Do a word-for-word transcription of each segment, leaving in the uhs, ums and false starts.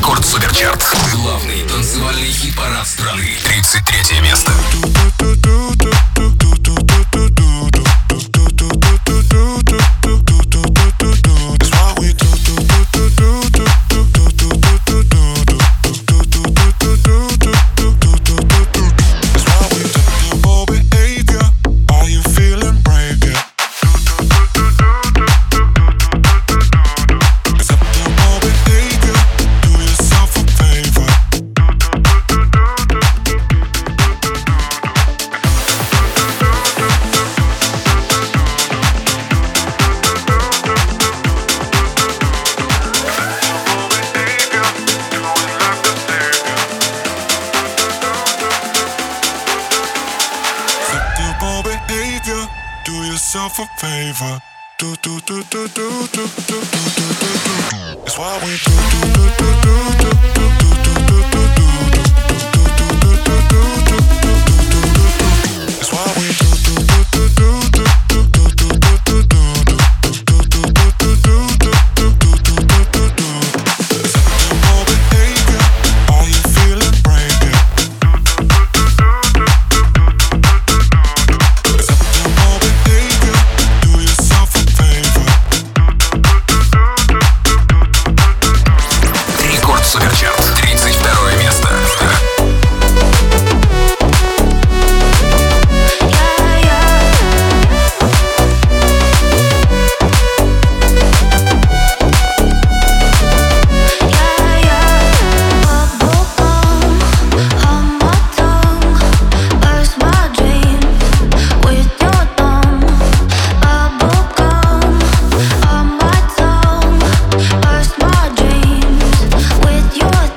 Рекорд Суперчарт. Главный танцевальный хит-парад страны. тридцать третье место. A favor. Do do do do do do do do do do do. It's why we do do do do do do do do do do do. It's why we do do do do do do do do do do. Acceptable behavior. Are you feeling brave? Суперчарт. тридцать второе место. Your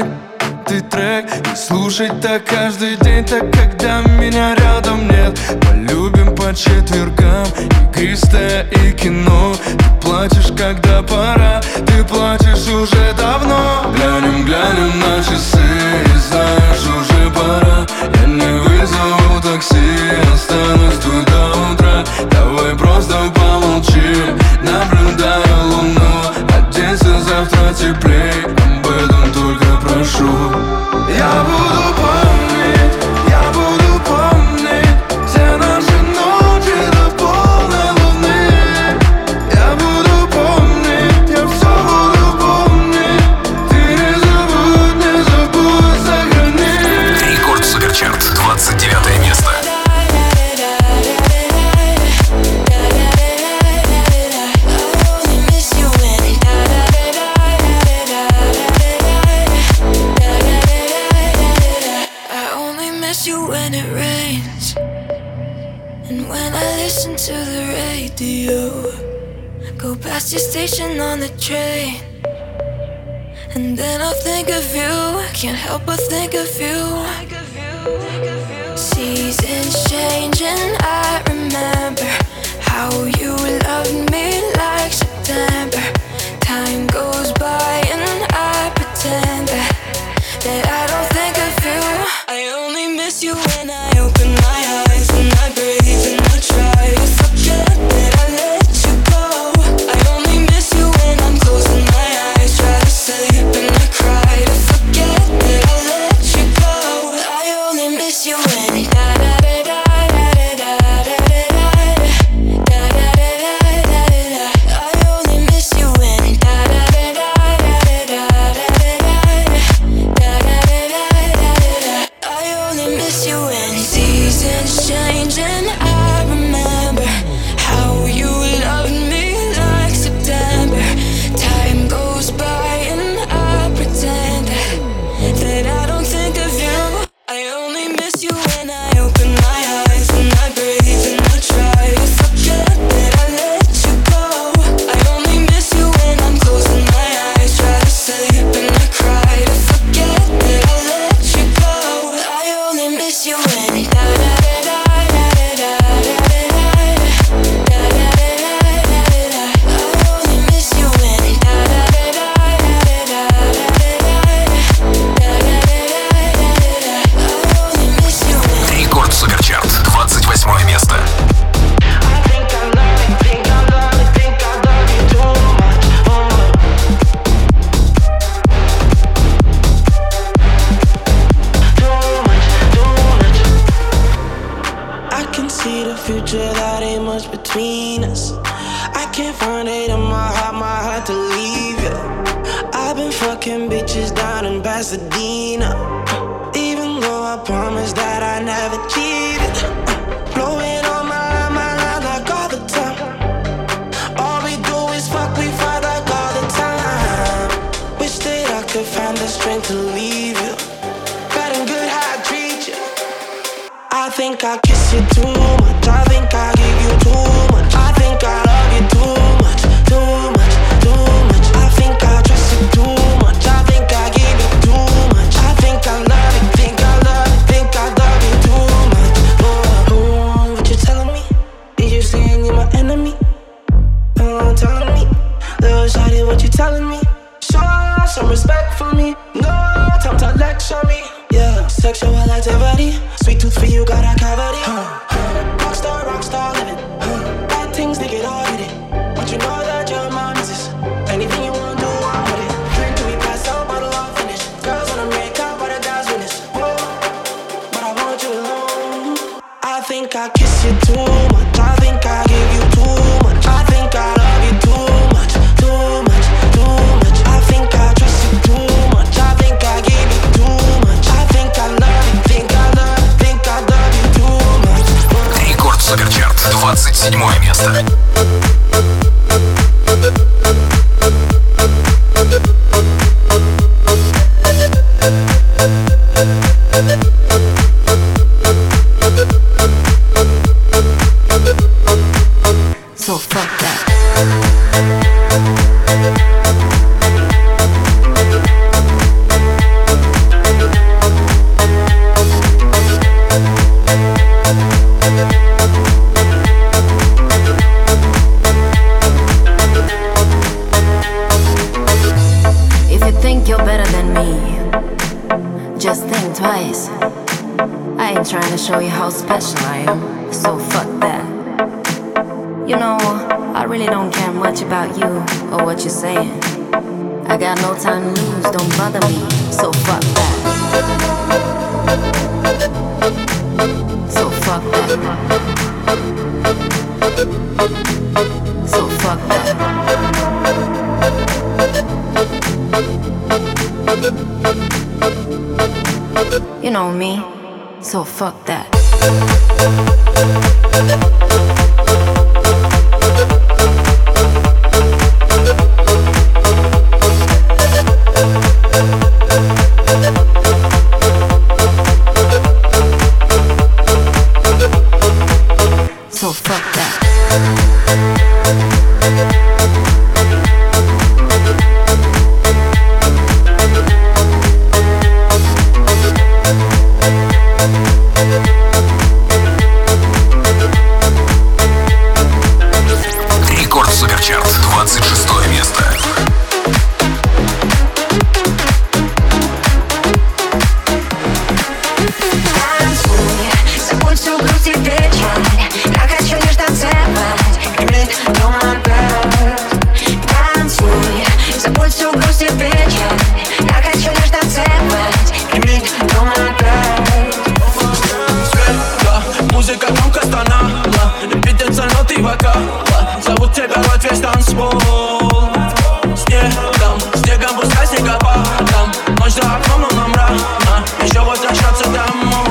ты трек и слушать так каждый день, так когда меня рядом нет. Полюбим по четвергам игристое и кино. Ты плачешь, когда пора, ты плачешь уже давно. Глянем, глянем на часы и знаешь, уже пора. Я не вызову такси, останусь тут до утра. Давай просто помолчим, наблюдая луну. Оденься завтра теплей, об этом только прошу. Я буду помнить, я буду помнить все наши ночи до полной луны. Я буду помнить, я все буду помнить. Ты не забудь, не забудь, сохрани. Рекорд Суперчарт, двадцать девятое место. To the radio, go past your station on the train, and then I'll think of you. Can't help but think of you. Seasons change and I remember how you loved me like September. Time goes by and I pretend that, that I don't think of you. I only miss you when I open my eyes and I breathe and I try to forget that I let you go. I only miss you when I'm closing my eyes, try to sleep and I cry to forget that I let you go. I only miss you when da da da da da da da da da da da da da. I only miss you when da da da da da da da da da. I only miss you when seasons change and I remember how you loved me like September. Time goes by and I pretend that, that I don't think of you. I only miss you when I open my eyes and I breathe and I try to forget that I let you go. I only miss you when I'm closing my eyes, try to sleep and I cry to forget that I let you go. I only miss you when da da da da da da da da da. I only miss you when da da da da da da da da. I only miss you when. Рекорд Суперчарт, двадцать восьмое место. I think I love it, think I love it, think I love you too much, oh. Too much, too much. I can see the future, that ain't much between us. I can't find it in my heart, my heart to leave you. I've been fucking bitches down in Pasadena, even though I promised that I never cheated. Blowing on my line, my line like all the time. All we do is fuck, we fight like all the time. Wish that I could find the strength to leave you. Bad and good how I treat you. I think I kiss you too much, I think I give you too much, I think I love you too much, too much, too much. I think I trust you too much, I think I give you too much, I think I love you, think I love you, think I love you too much. Oh, oh, what you telling me? Did you say you're my enemy? Oh, telling me, little shawty, what you telling me? Show some respect for me, no time to lecture me. Yeah, sexual activity, sweet tooth for you, got a cavity. Huh, huh. Rockstar, rockstar living. Huh. Bad things, they get all hit it. But you know that you're my missus. Anything you wanna do, I'm with it. Drink till we pass out, bottle all finished. Girls wanna make out, but the guys witness. Whoa, but I want you alone. I think I kiss you too much, I think I give you too much, I think I love you too much, too much, too much. I think I trust you too much, I think I give you too much, I think I love you, think I love you, think I love you too much. Рекорд Суперчарт, двадцать седьмое место. So fuck that. just think twice. I ain't trying to show you how special I am, so fuck that. You know, I really don't care much about you or what you're saying. I got no time to lose, don't bother me, so fuck that. So fuck that. So fuck that. You know me, so fuck that. So fuck that. Рекорд Суперчарт, двадцать шестое место. Забудь всю грусть и печаль. Я хочу лишь танцевать, гремит дом опять. Танцуй, забудь всю грусть и печаль. Я хочу лишь танцевать, гремит дом опять. Музыка громко стонала, репетиция ноты вокала. Зовут тебя в весь танцпол. Снегом, снегом пускай снегопадом. Ночь за окном, но нам рано еще возвращаться домой.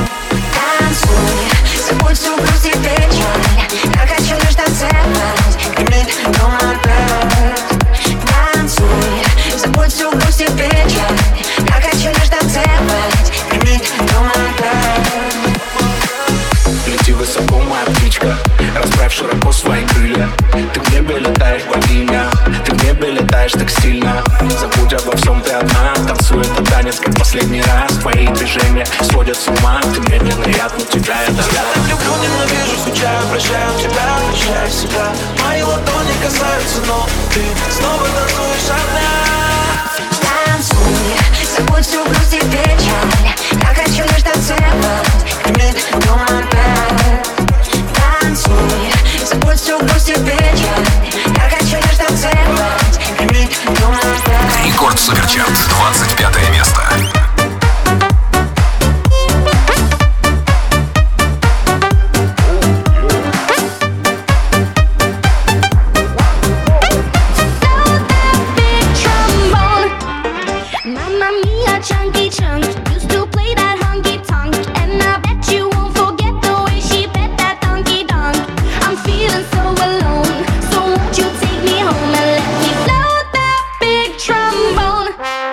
Забудь всю грусть и печаль. Я хочу лишь танцевать, гремит дом опять. Танцуй, забудь всю грусть и печаль. Я хочу лишь танцевать, гремит дом опять. Лети высоко, моя птичка, расправь широко свои крылья. Ты в небе летаешь, богиня, ты в небе летаешь так сильно. Забудь обо всем, ты одна. Танцуй этот танец, как последний раз. Твои движения сводят с ума. Ты медленно, я от тебя, это Я так люблю, ненавижу, скучаю, прощаю тебя, прощаю себя. Мои ладони касаются, но ты снова танцуешь одна. Танцуй, забудь всю грусть и печаль. Я хочу лишь танцевать, гремит дом опять. Танцуй, забудь всю грусть и печаль. Я хочу лишь танцевать, гремит дом опять. Рекорд Суперчарт, двадцать пятое место. Mamma mia, chunky chunk. Used to play that honky tonk, and I bet you won't forget the way she bet that donkey donk. I'm feeling so alone, so won't you take me home and let me blow that big trombone?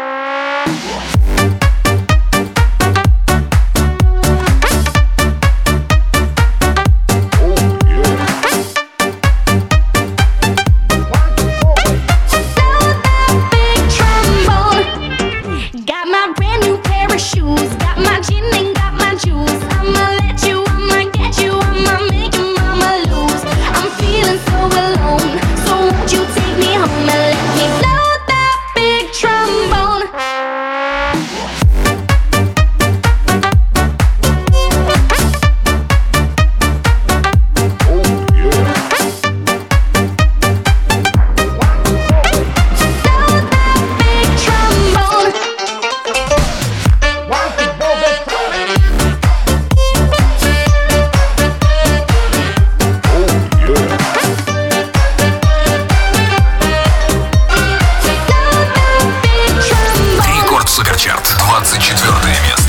Got my brand new pair of shoes, got my gin and got my juice. I'ma let you, I'ma get you, I'ma make your mama lose. I'm feeling so alone, so won't you take me home and let me blow that big trombone? Big trombone. Рекорд Суперчарт, двадцать четвертое место.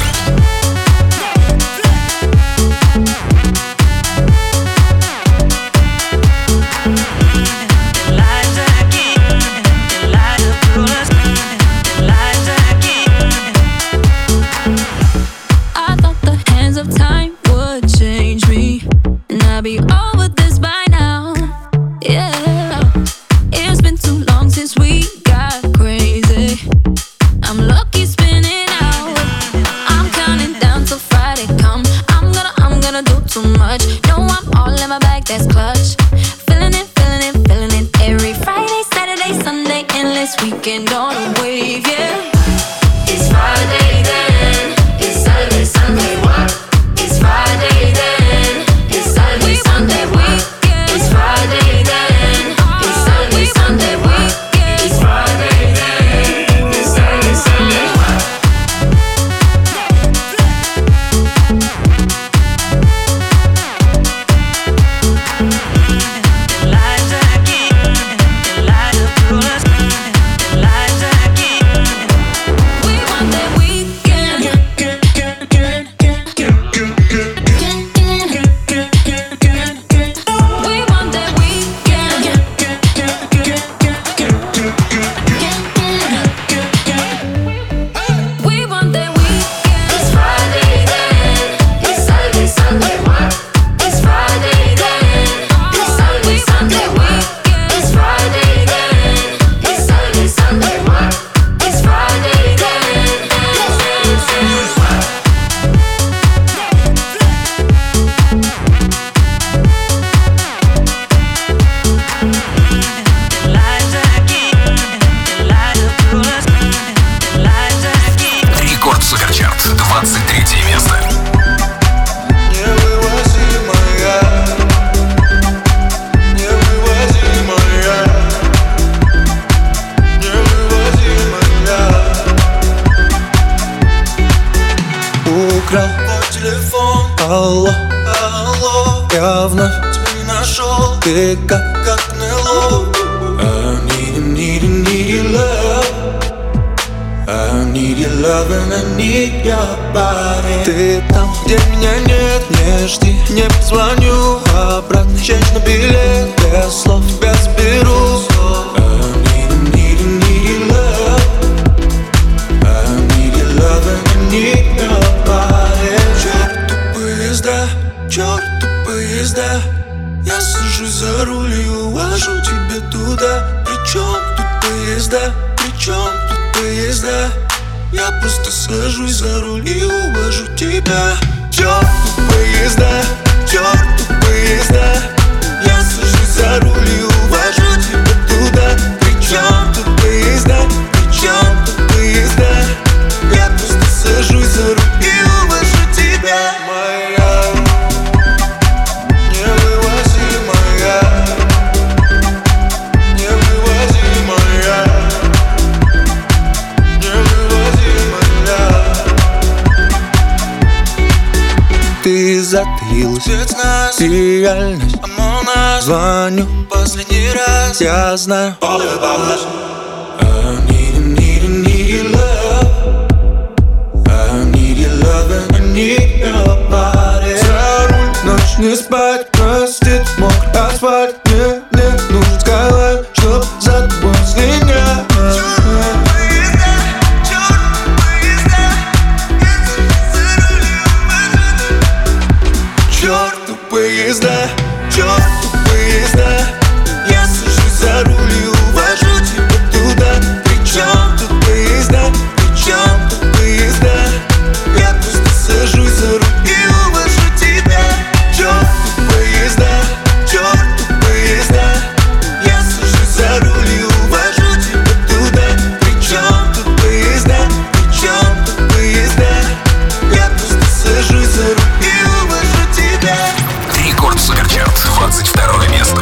I thought the hands of time would change me, and I'd be over this by now. Yeah, it's been too long since we got crazy. I'm lucky spinning out. I'm counting down till Friday come. I'm gonna, I'm gonna do too much. No, I'm all in my bag, that's clutch. Feeling it, feeling it, feeling it. Every Friday, Saturday, Sunday, endless weekend on a wave, yeah. It's Friday then. украл твой телефон. Алло, алло, я вновь тебя не нашел. Ты как, как НЛО. I need, need, need your love. I need your love and I need your body. Ты там, где меня нет, не жди, не позвоню. Обратно честь на билет, без слов тебя заберу. I need, need, need your love. I need your love and I need your body. Черту поезда, черту поезда. Я сажусь за руль и увожу тебя туда. Причем тут поезда, причем тут поезда. Я просто сажусь за руль и увожу тебя. Черту поезда, черту поезда. Я сажусь за руль и увожу тебя туда. Причем тут поезда, причем тут поезда. Я просто сажусь за руль и увожу тебя. Моя ты затаилась, ты реальность. Звоню последний раз, я знаю. I need, need, need your love. I need your love and I need your body. За руль, ночь не спать, простит мокрый асфальт. Мне, мне нужен скайлайн, чтоб за тобой слинять. Черту поезда, черту поезда. Я сажусь за руль и увожу тебя туда. Причем тут поезда, причем тут поезда. Я просто сажусь за руль и увожу тебя. Черту поезда, черту поезда. Я сажусь за руль и увожу тебя туда. Причем тут поезда, причем тут поезда. Я просто сажусь за руль и увожу тебя. Рекорд Суперчарт, двадцать второе место.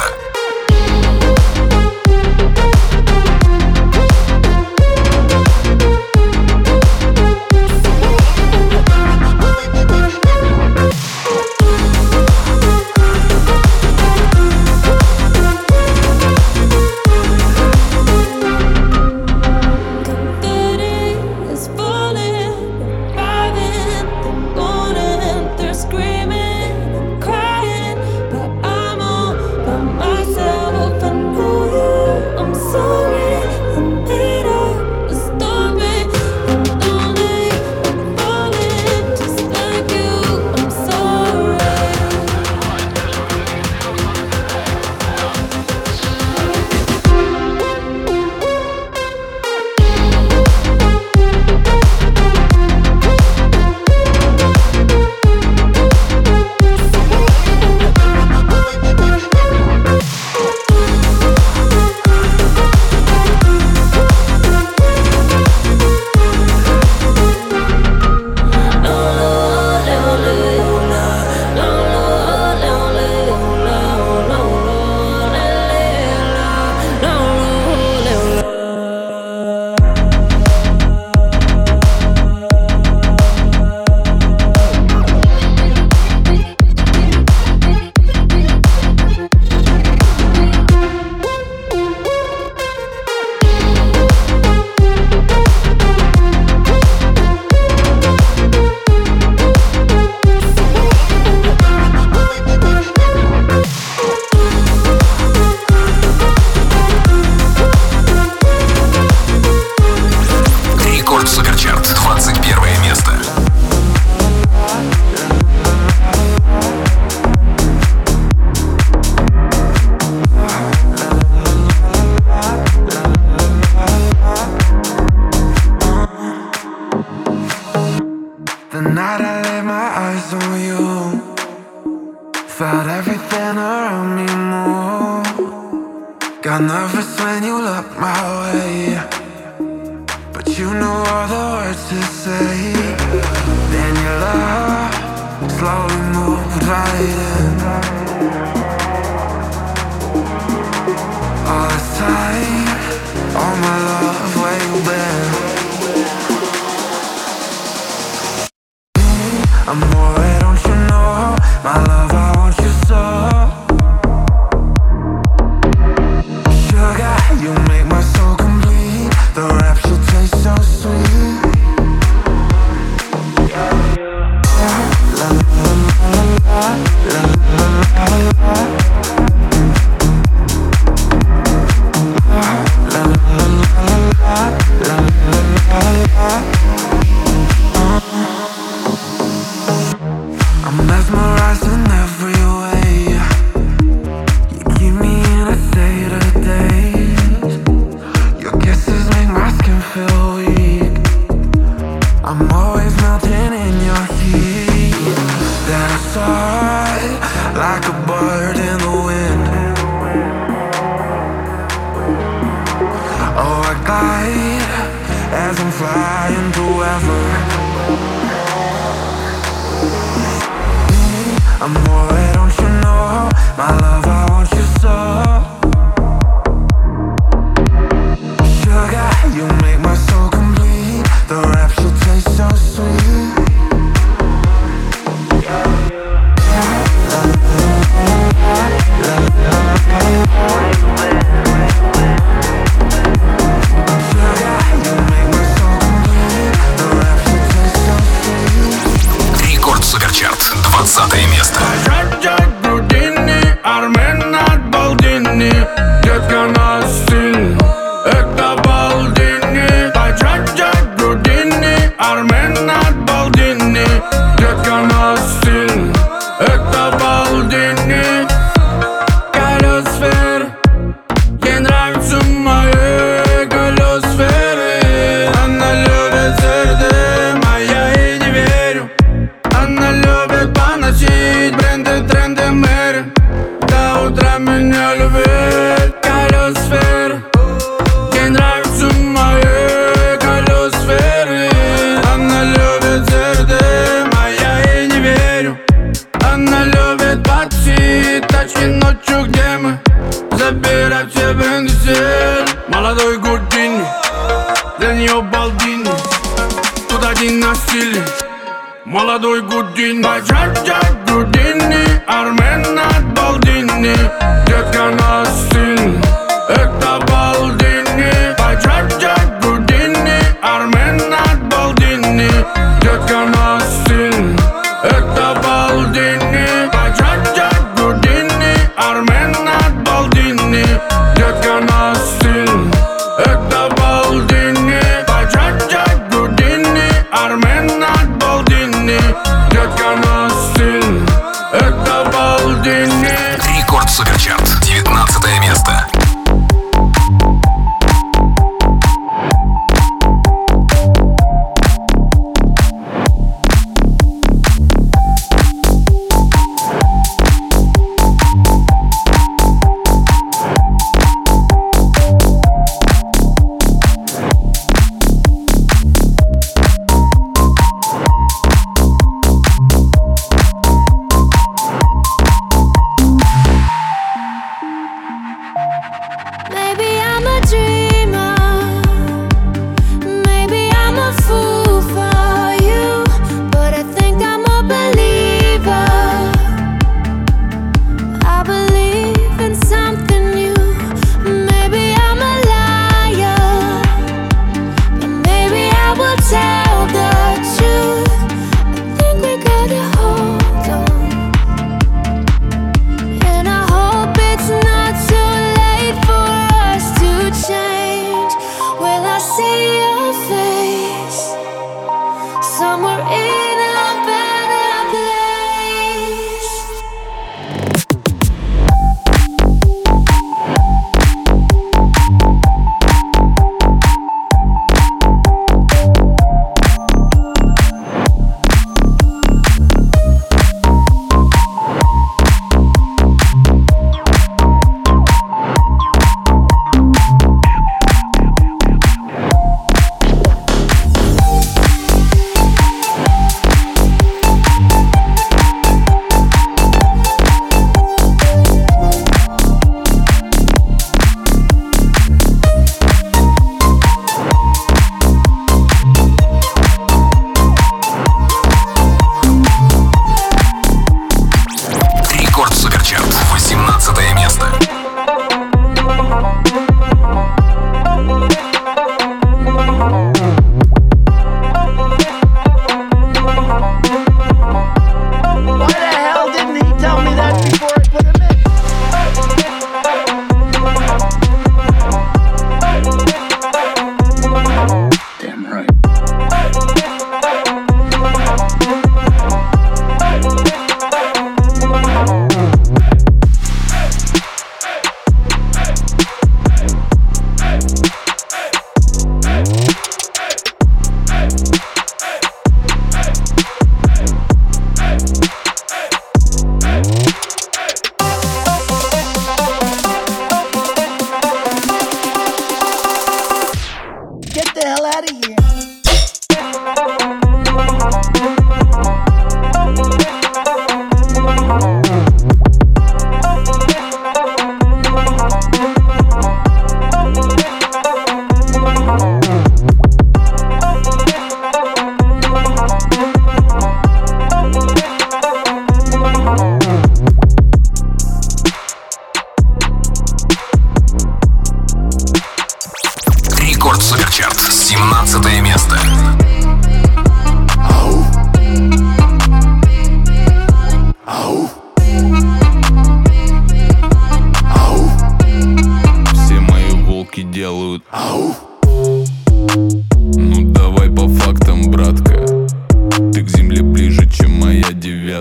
Felt everything around me move. Got nervous when you looked my way, but you knew all the words to say. Then your love slowly moved right in. All this time, all my love, where you been? I Amore, don't you know, my love, I want you so. Sugar, you make my soul complete. The rapture tastes so sweet. La la la la la la la la. La la la la la la la. I'm mesmerized in every way. You keep me in a state of daze. Your kisses make my skin feel weak. I'm always melting in your heat. Then I soar like a bird in the wind. Oh, I glide as I'm flying through ever. Amore, don't you know, my love, I want you so. Sugar, you make my soul complete. The rapture tastes so sweet. Рекорд Суперчарт, двадцатое место. Армен от Балдини, детка на стиль, это Балдини. Баджаджа Грудини, Армен от Балдини, детка на стиль, это Балдини. Колесфер, ей нравятся мои колесферы. Она любит сердце моя и не верю. Она любит поносить бренды, тренды, мэри. До утра меня любит колесфер. Ей нравятся мои колесферы. Она любит сердце моя и не верю. Она любит пати, тачки ночью, где мы забирать все бренды сель. Молодой Гудини, для нее Балдини. Тут один на стиле, молодой Гудини. Баджаджа Грудини, Армен от Балдини, детка на стиль, это Балдини. Баджаджа Грудини, Армен от Балдини, детка на стиль, это Балдини. Баджаджа Грудини, Армен от Балдини, детка на стиль, это Балдини. Баджаджа Грудини, Армен от Балдини, детка на стиль, это Балдини. Рекорд Суперчарт, девятнадцатое место.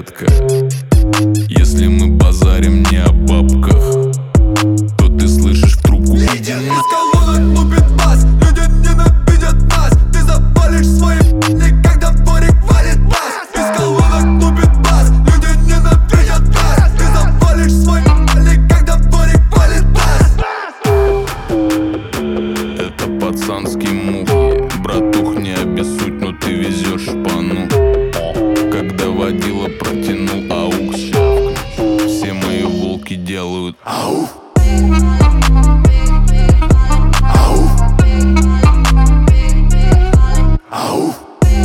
порядка. Если мы базарим не о бабках, то ты слышишь в трубку: иди на... Из колонок лупит бас, люди ненавидят нас. Ты запалишь свои п***ни, когда дворик валит бас. Из колонок лупит бас, люди ненавидят нас. Ты запалишь свои п***ни, когда дворик валит бас. Это пацанский мув, братух, не обессудь, но ты везешь шпану. Когда водила протянул аукс, все мои волки делают ау. Ау. Ау.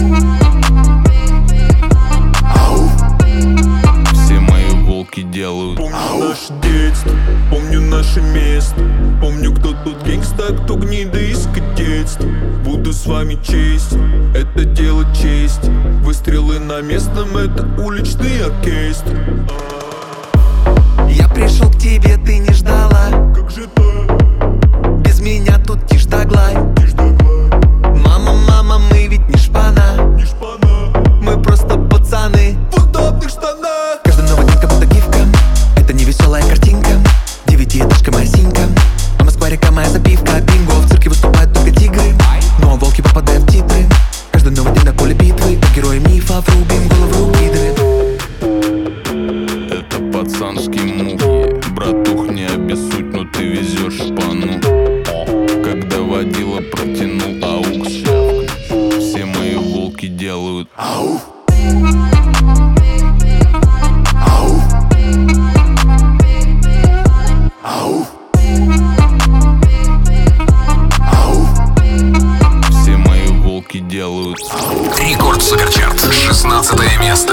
Ау. Все мои волки делают помню ау. Наше детство, помню наше место. Помню, кто тут гангста, кто гнида из кадетства. Буду с вами честь, это дело чести. Выстрелы на местном, это уличный оркестр. Я пришел к тебе, ты не ждала. Как же так? Без меня тут тишь да гладь. Мама, мама, мы ведь не шпана. Не шпана. Мы просто пацаны в удобных штанах. Каждый новый день как будто гифка. Это не веселая картинка. Девятиэтажка моя синька. А Москва река моя запивка. Бинго, в цирке выступают только тигры. Но волки попадают в титры. Каждый новый день на поле битвы. По героям мифа врубим голову гидры. Это пацанский мув, братух, не обессудь, но ты везешь шпану. Когда водила протянул аукс, все мои волки делают ау. Ау. Ау. Ау. Все мои волки делают ау. Рекорд Суперчарт, шестнадцатое место.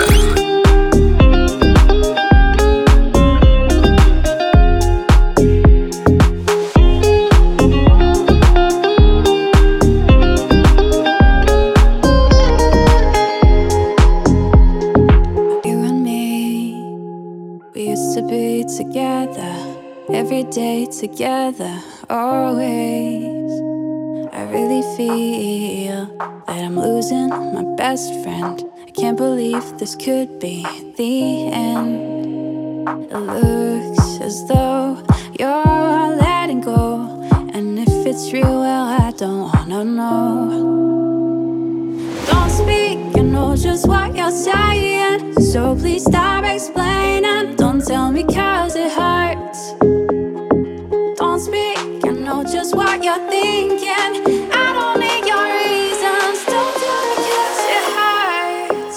Every day together, always. I really feel that I'm losing my best friend. I can't believe this could be the end. It looks as though you're letting go, and if it's real, well, I don't wanna know. Don't speak, I know just what you're saying, so please stop explaining. Don't tell me 'cause it hurts. Don't speak, I know just what you're thinking. I don't need your reasons. Don't tell me 'cause it hurts.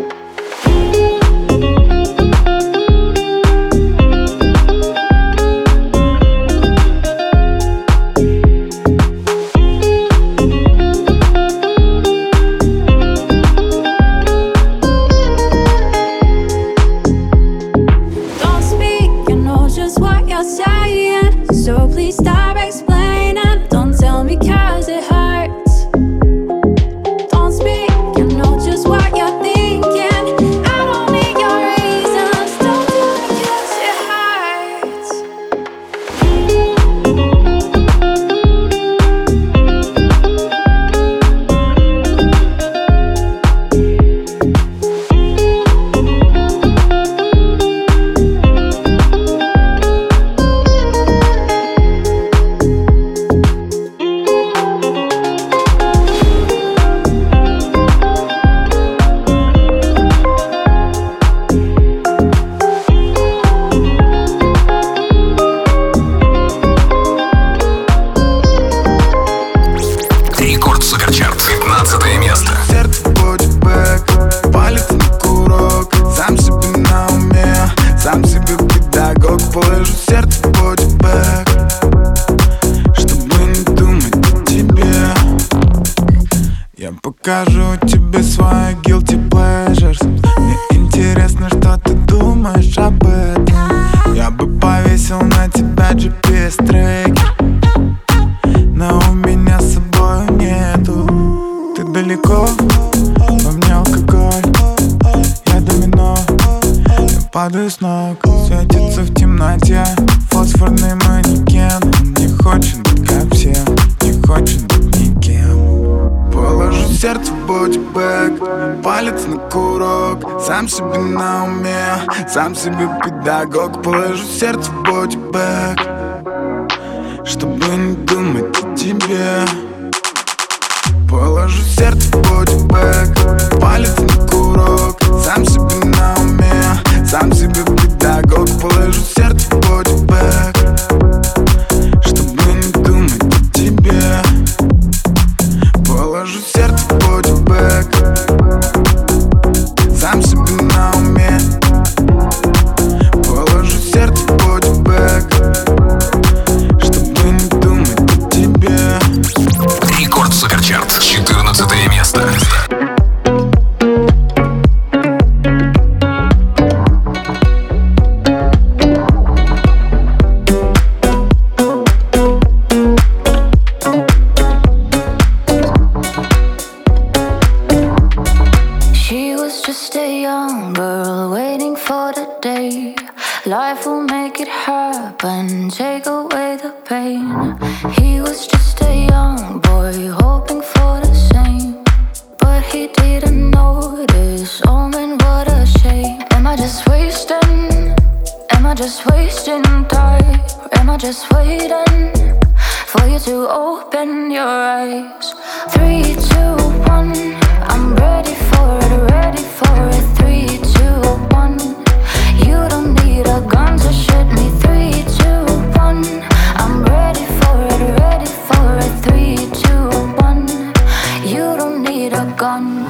Don't speak, I know just what you're saying, so please stop explaining. Don't tell me 'cause it hurts. Don't speak, I know just what you're thinking. I don't need your reasons. Don't tell me 'cause it hurts. Рекорд Суперчарт, пятнадцатое место. Сердце будет бэк, палец на курок. Сам себе на уме, сам себе педагог. Положу сердце будет бэк, чтобы не думать о тебе. Я покажу тебе свои guilty pleasures. Мне интересно, что ты думаешь об этом. Я бы повесил на тебя джи пи эс-трекер, но у меня с собой нету. Ты далеко, во мне алкоголь. Я домино, я падаю с ног. Светится в темноте фосфорный манекен. Он не хочет быть как все, не хочет быть никем. Положу сердце в бодибэк, палец на курок, сам себе на уме, сам себе педагог. Положу сердце в бодибэк, чтобы не думать о тебе. Положу сердце в бодибэк, палец на курок, сам себе на уме, сам себе педагог. Положу сердце в бодибэк, чтобы не думать о тебе. Положу сердце в бодибэк, сам себе на уме. Положу сердце в бодибэк, чтобы не думать о тебе. Рекорд Суперчарт, четырнадцатое место. Life will make it happen, take away the pain. He was just a young boy, hoping for the same, but he didn't notice, oh man, what a shame. Am I just wasting, am I just wasting time? Or am I just waiting for you to open your eyes? Three, two, one, I'm ready for it, ready for it. Three, two, one, you don't need a gun to shoot me. Three, two, one, I'm ready for it, ready for it. Three, two, one, you don't need a gun.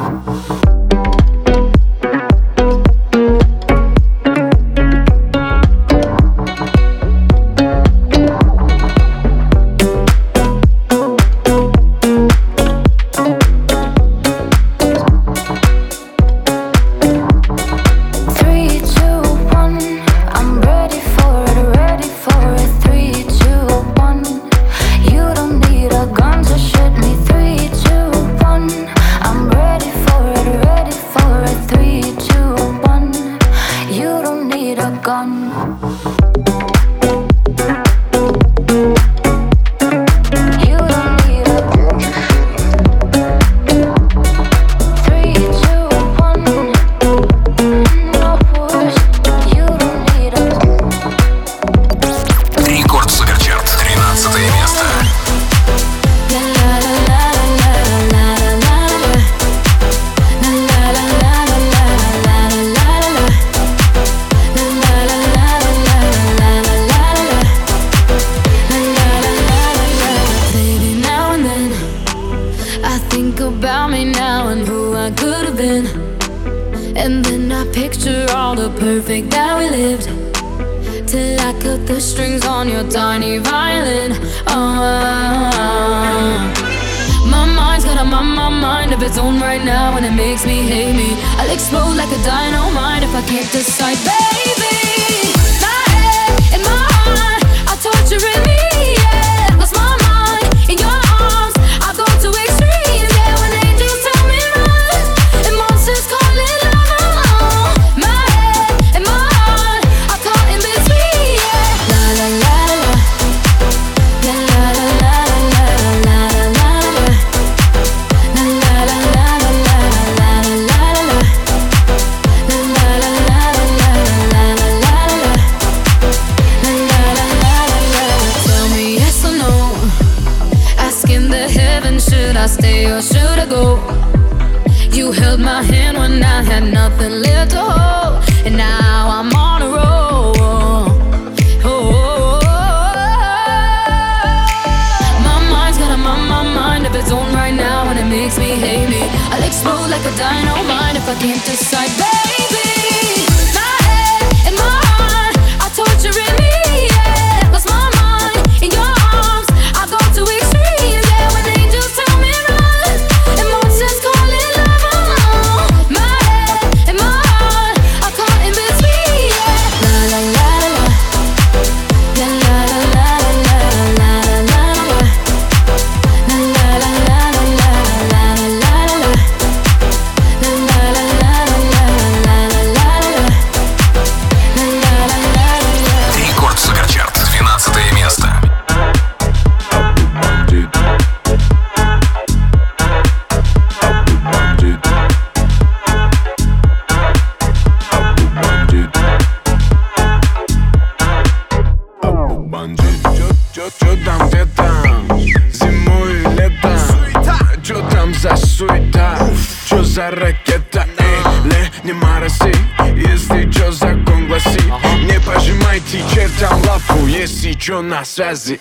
за ракета? Или не морози, если чё закон гласит. Не пожимайте чертям лапу, если чё на связи.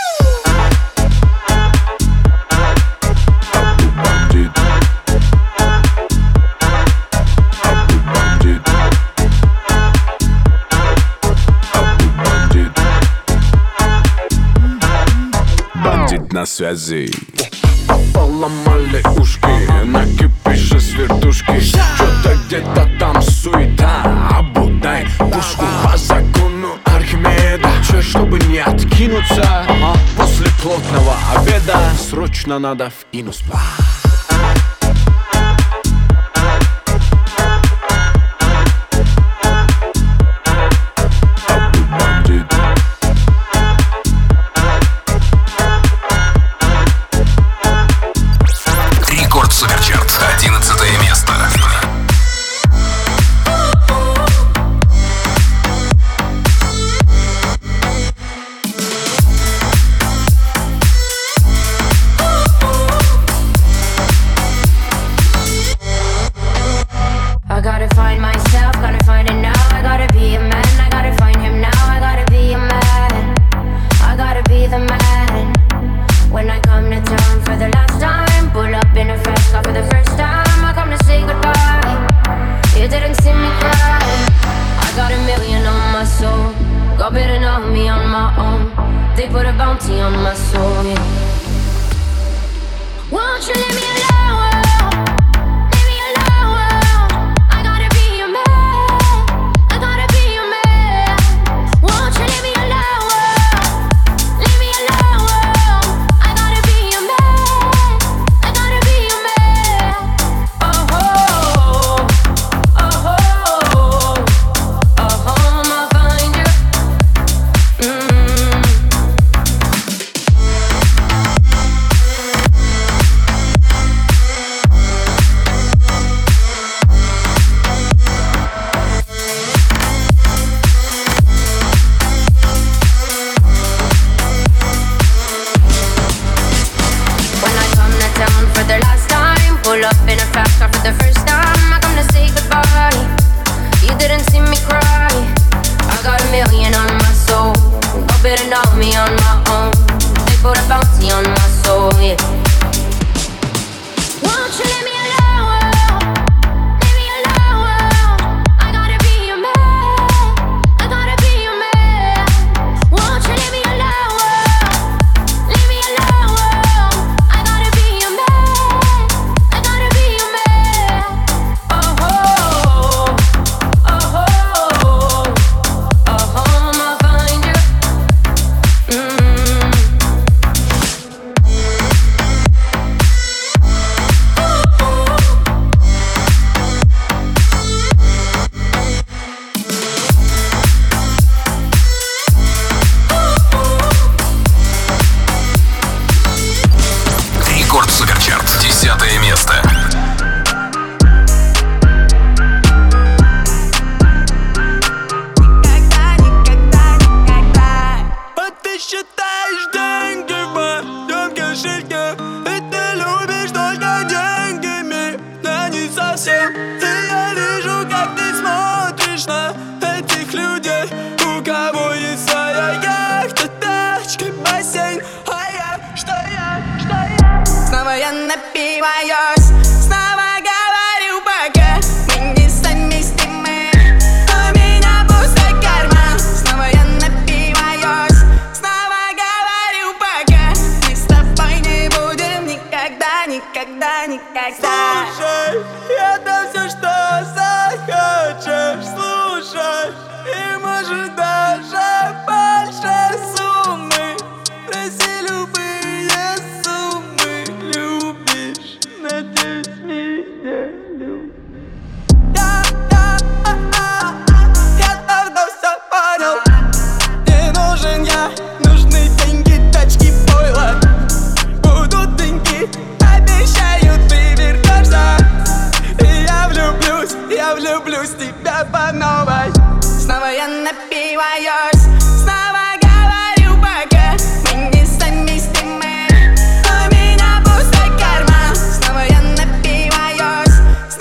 Бандит на связи. Поломали ушки, накипишь из вертушки. Что-то где-то там суета, обудай пушку по закону Архимеда. Че, чтобы не откинуться, после плотного обеда срочно надо в кино спать. Суперчарт, одиннадцатое место. I gotta find myself, gotta find it now. I gotta be a man, I gotta find him now. I gotta be a man, I gotta be the man. When I come to town for the last time, pull up in a fast car for the first time. I come to say goodbye. You didn't see me cry. I got a million on my soul. God better know me on my own. They put a bounty on my soul, yeah. Won't you leave me alone? Leave me alone. I gotta be your man. I gotta be your man. Won't you leave me alone? Leave me alone. I gotta be your man. I gotta be your man. Oh oh oh oh oh oh, I'ma find you. Mm. When I come to town for the last time, pull up in a fast car for the first time. I come to say goodbye. You didn't see me cry. I got a million on my soul. God better know me on my own. They put a bounty on my soul, yeah. Won't you leave me alone? Leave me alone. I gotta be your man. I gotta be your man. Won't you leave me alone? Leave me alone. I gotta be your man. I gotta be your man. Oh oh oh oh oh, I'ma find you. Mm. Рекорд Суперчарт, десятое место. А ты считаешь деньги в моем кошельке, и ты любишь только деньгами, но не совсем. И я вижу, как ты смотришь на этих людей, у кого есть своя яхта, тачка, бассейн. А я, что я, что я? Снова я напиваюсь, снова говорю пока мы не совместимы. У меня пустой карман, снова я напиваюсь, снова говорю пока мы с тобой не будем никогда, никогда, никогда. Слушай, это все, что захочешь слушать, и может даже больше суммы. Проси любые суммы, любишь, надеюсь, меня любишь. Я, я, а, а, а, я давно все понял. Не нужен я, нужны деньги, тачки, пойло. Будут деньги, обещаю, ты вернешься. И я влюблюсь, я влюблюсь в тебя по новой. Снова я напиваюсь, снова говорю пока мы не совместимы. У меня пустой карман, снова я напиваюсь,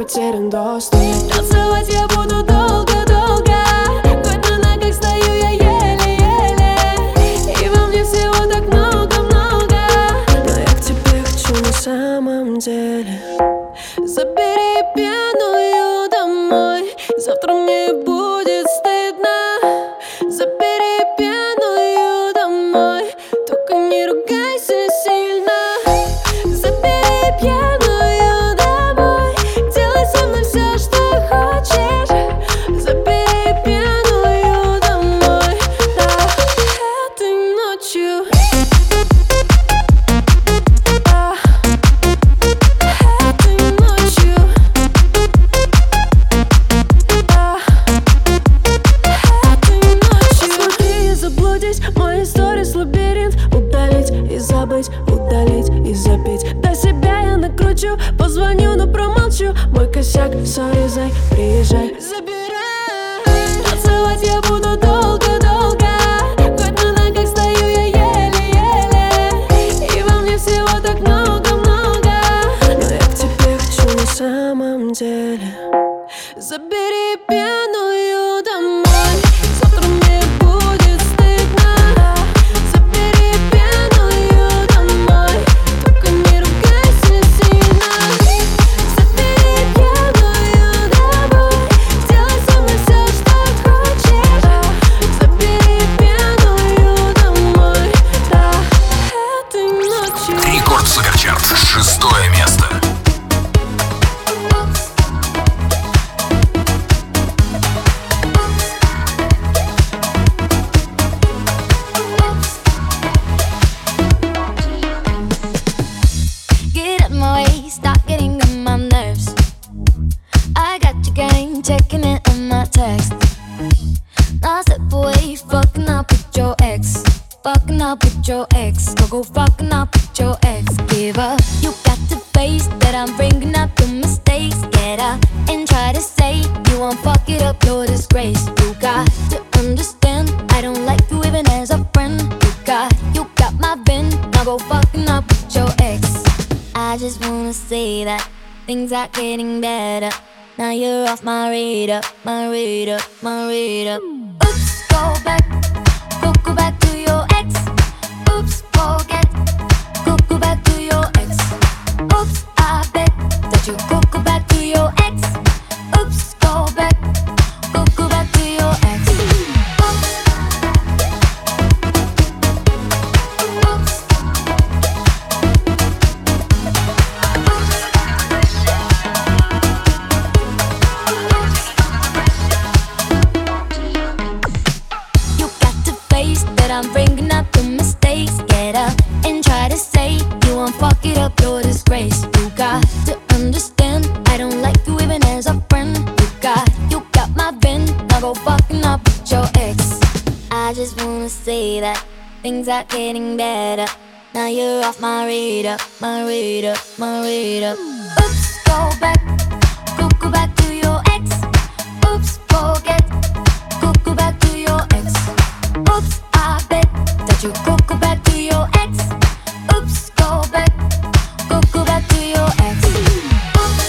потерян доступ. Танцевать я буду долго-долго, хоть на ногах стою я еле-еле, и во мне всего так много-много, но я к тебе хочу на самом деле. Забери пьяную домой, завтра мне будет стыдно. Забери пьяную домой, только не ругайся сильно. Забери пьяную домой, делай со мной все, что хочешь. Забери пьяную домой, да, этой ночью. Да, этой ночью. Да, этой ночью. Смотри и заблудись, мои сторис лабиринт. Удалить и забыть, удалить и забить. До себя я накручу, позвоню, но промолчу. Мой косяк, сори, зай, приезжай, забирай. Танцевать я буду долго-долго, хоть на ногах стою я еле-еле, и во мне всего так много-много, но я к тебе хочу на самом деле. забери пьяную домой, завтра мне будет стыдно. Забери пьяную домой, только не ругайся сильно. Забери пьяную домой, делай со мной все, что хочешь. Забери пьяную домой, да, этой ночью. Рекорд Суперчарт, шестое место. Get out my way, stop getting on my nerves. I got your game, checking it on my text. Now step away, fucking up with your ex. Fucking up with your ex. Go go fucking up with your ex. Give up, you got to face that I'm bringing up the mistakes. Get up and try to say you won't fuck it up, your disgrace. You got to understand, I don't like you even as a friend. You got, you got my bin, now go fucking up with your ex. I just wanna say that things are getting better. Now you're off my radar, my radar, my radar. Oops, go back, go go back to your ex. Oops, forget, go go back to your ex. Oops, I bet that you go go back to your ex. Oops, go back, go go back to your ex. Oops, oops. You got to face that I'm bringing up the mistakes. Get up and try to say you won't fuck it up, your disgrace. You got to understand, I don't like you even as a friend. You got, you got my bin, now go fucking up with your ex. I just wanna say that things are getting better. Now you're off my radar, my radar, my radar. Oops, go back, go go back to your ex. Oops, forget, go go back to your ex. Oops, I bet that you go go back to your ex. Oops, go back, go go back to your ex. Oops,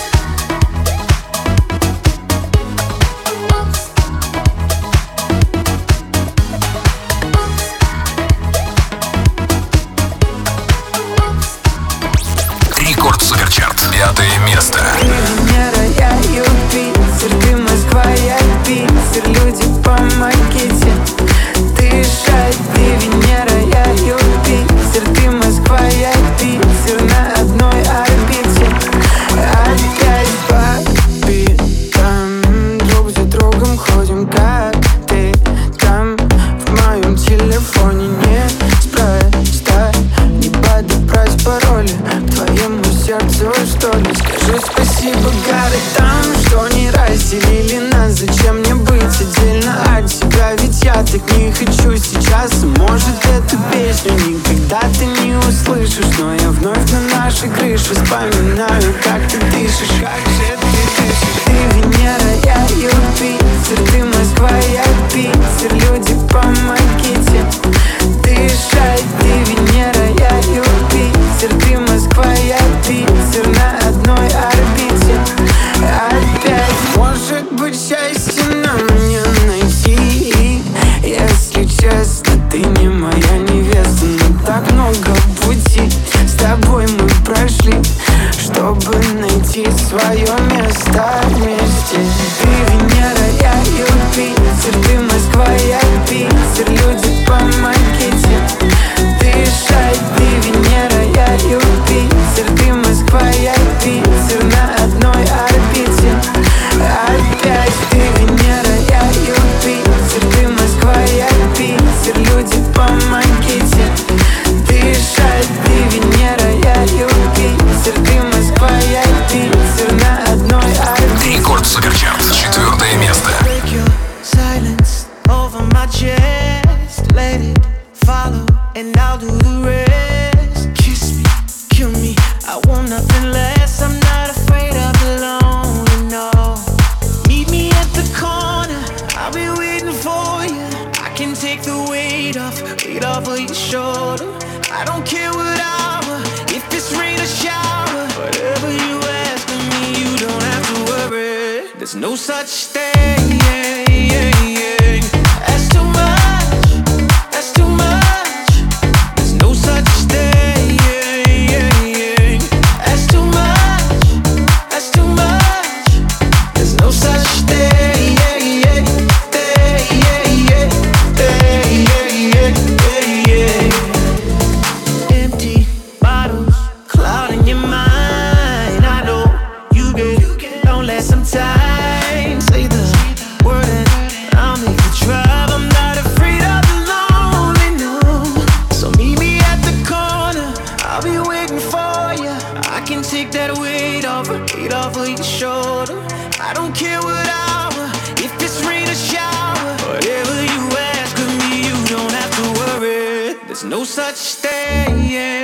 Рекорд Суперчарт, пятое место. Венера, я Юпитер, ты Москва, я Питер. Люди, помогите дышать. Ты Венера, я Юпитер, ты Москва, я Питер. На одной орбите опять по битам. Друг за другом ходим, как ты там. В моем телефоне неспроста не подобрать пароли к твоему сердцу, что ли. Скажи спасибо городам, что не разделили нас. Зачем мне быть отдельно от тебя? Ведь я так не хочу сейчас. Может, эту песню никогда ты не услышишь, но я вновь на нашей крыше вспоминаю, как ты дышишь. Как же ты дышишь? Ты Венера, я Юпитер, ты Москва, я Питер. Люди, помогите дышать. Ты Венера, я Юпитер, ты Москва, я Питер. На одной орбите my chest, let it follow, and I'll do the rest. Kiss me, kill me, I want nothing less. I'm not afraid of the lonely, no. Meet me at the corner, I'll be waiting for you. I can take the weight off, weight off of your shoulder. I don't care what hour, if it's rain or shower. Whatever you ask of me, you don't have to worry. There's no such thing as too much, that's too much. There's no such thing as too much, that's too much. There's no such thing. Empty bottles clouding your mind. I know you get lonely sometimes. Say the word and I'll make you drive. I'm not afraid of the lonely, no. So meet me at the corner, I'll be waiting for you. I can take that weight off, weight off of your shoulder. I don't care what hour, if it's rain or shower. Whatever you ask of me, you don't have to worry. There's no such thing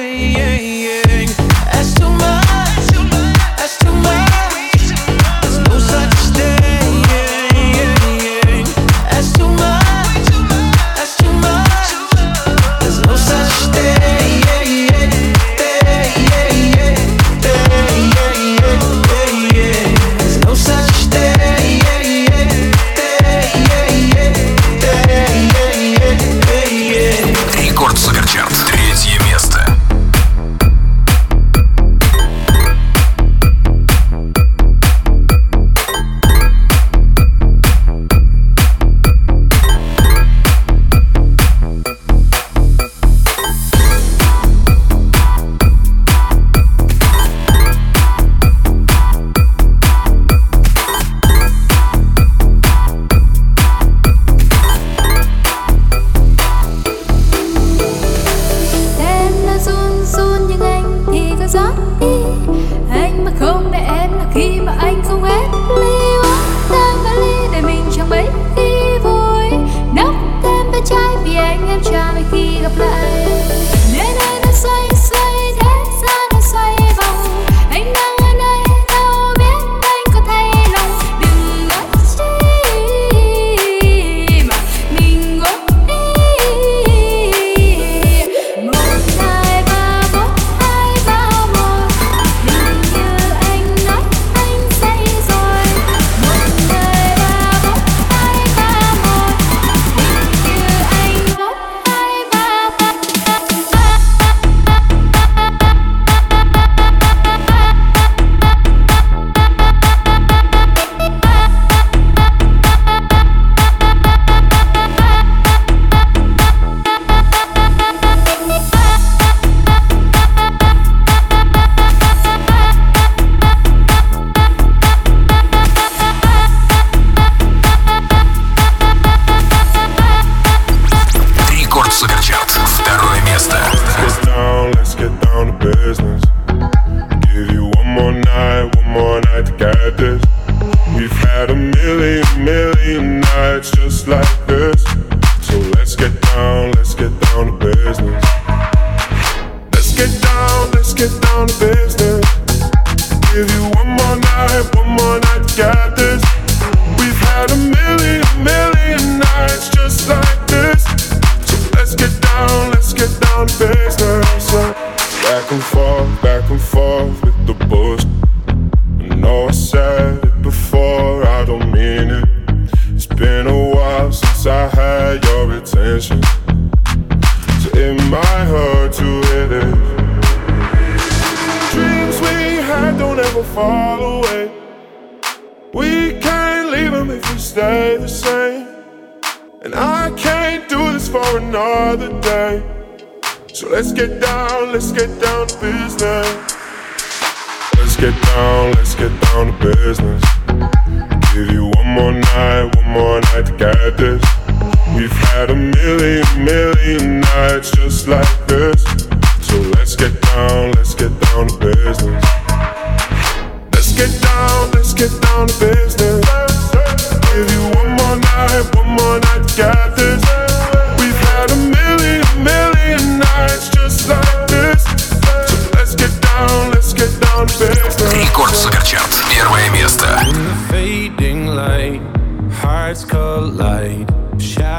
as too much, that's too much. There's no such thing as too much, that's too much. There's no such thing. There's no such thing. Рекорд Суперчарт, третье место. Em đã run run nhưng anh thì có gió đi. Anh mà không để em là khi mà anh không hết ly. Uống tan vali để mình chẳng mấy khi vui. Nốc thêm bé trai vì anh em cha mấy khi gặp lại. Nên anh đã xoay xoay thế gian đã xoay vòng. Anh đang ở nơi đâu biết anh có thay lòng. Đừng nói chi mà mình ngốc đi. Một hai ba bốn hai vào một. Hình như anh nói anh say rồi. Một hai ba bốn hai ba một. Hình như anh bốn hai ba ba. Рекорд Суперчарт, второе место. Let's get down, let's get down to business. Give you one more night, one more night to get this. We've had a million, million nights just like this. So let's get down, let's get down to business. Let's get down, let's get down to business. Give you one more night, one more night to get this. We've had a million, million nights just like this. So let's get down, let's get down to business. Back and forth, back and forth with the bullshit. I know I said it before, I don't mean it. It's been a while since I had your attention, so it might hurt to hit it. Dreams we had don't ever fall away. We can't leave them if we stay the same. And I can't do this for another day. So let's get down, let's get down to business. Let's get down, let's get down to business. Give you one more night, one more night to get this. We've had a million, million nights just like this. So let's get down, let's get down to business. Let's get down, let's get down to business. Give you one more night, one more night to get this.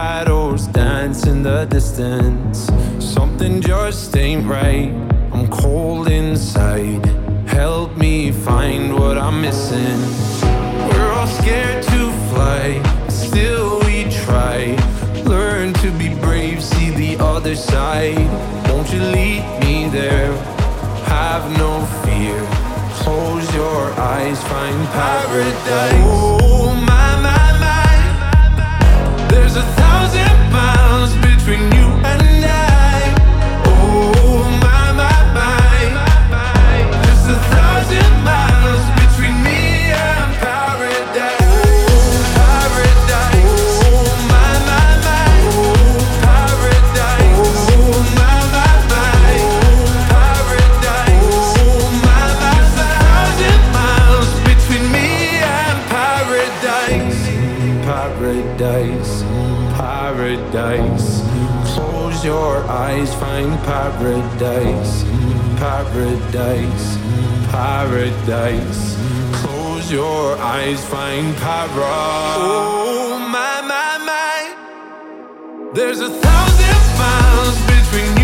shadows dance in the distance. Something just ain't right. I'm cold inside. Help me find what I'm missing. We're all scared to fly, still we try. Learn to be brave, see the other side. Won't you lead me there? Have no fear. Close your eyes, find paradise. Oh my, my, my. There's a thousand miles between you and I. Oh my, my, my. There's a thousand miles between me and paradise. Oh, paradise. Oh my, my, my. Oh, paradise. Oh my, my, my. Oh, paradise. Oh my, my, my. Thousand miles between me and paradise. Paradise. Paradise. Close your eyes, find paradise. Paradise. Paradise. Close your eyes, find paradise. Oh my, my, my. There's a thousand miles between you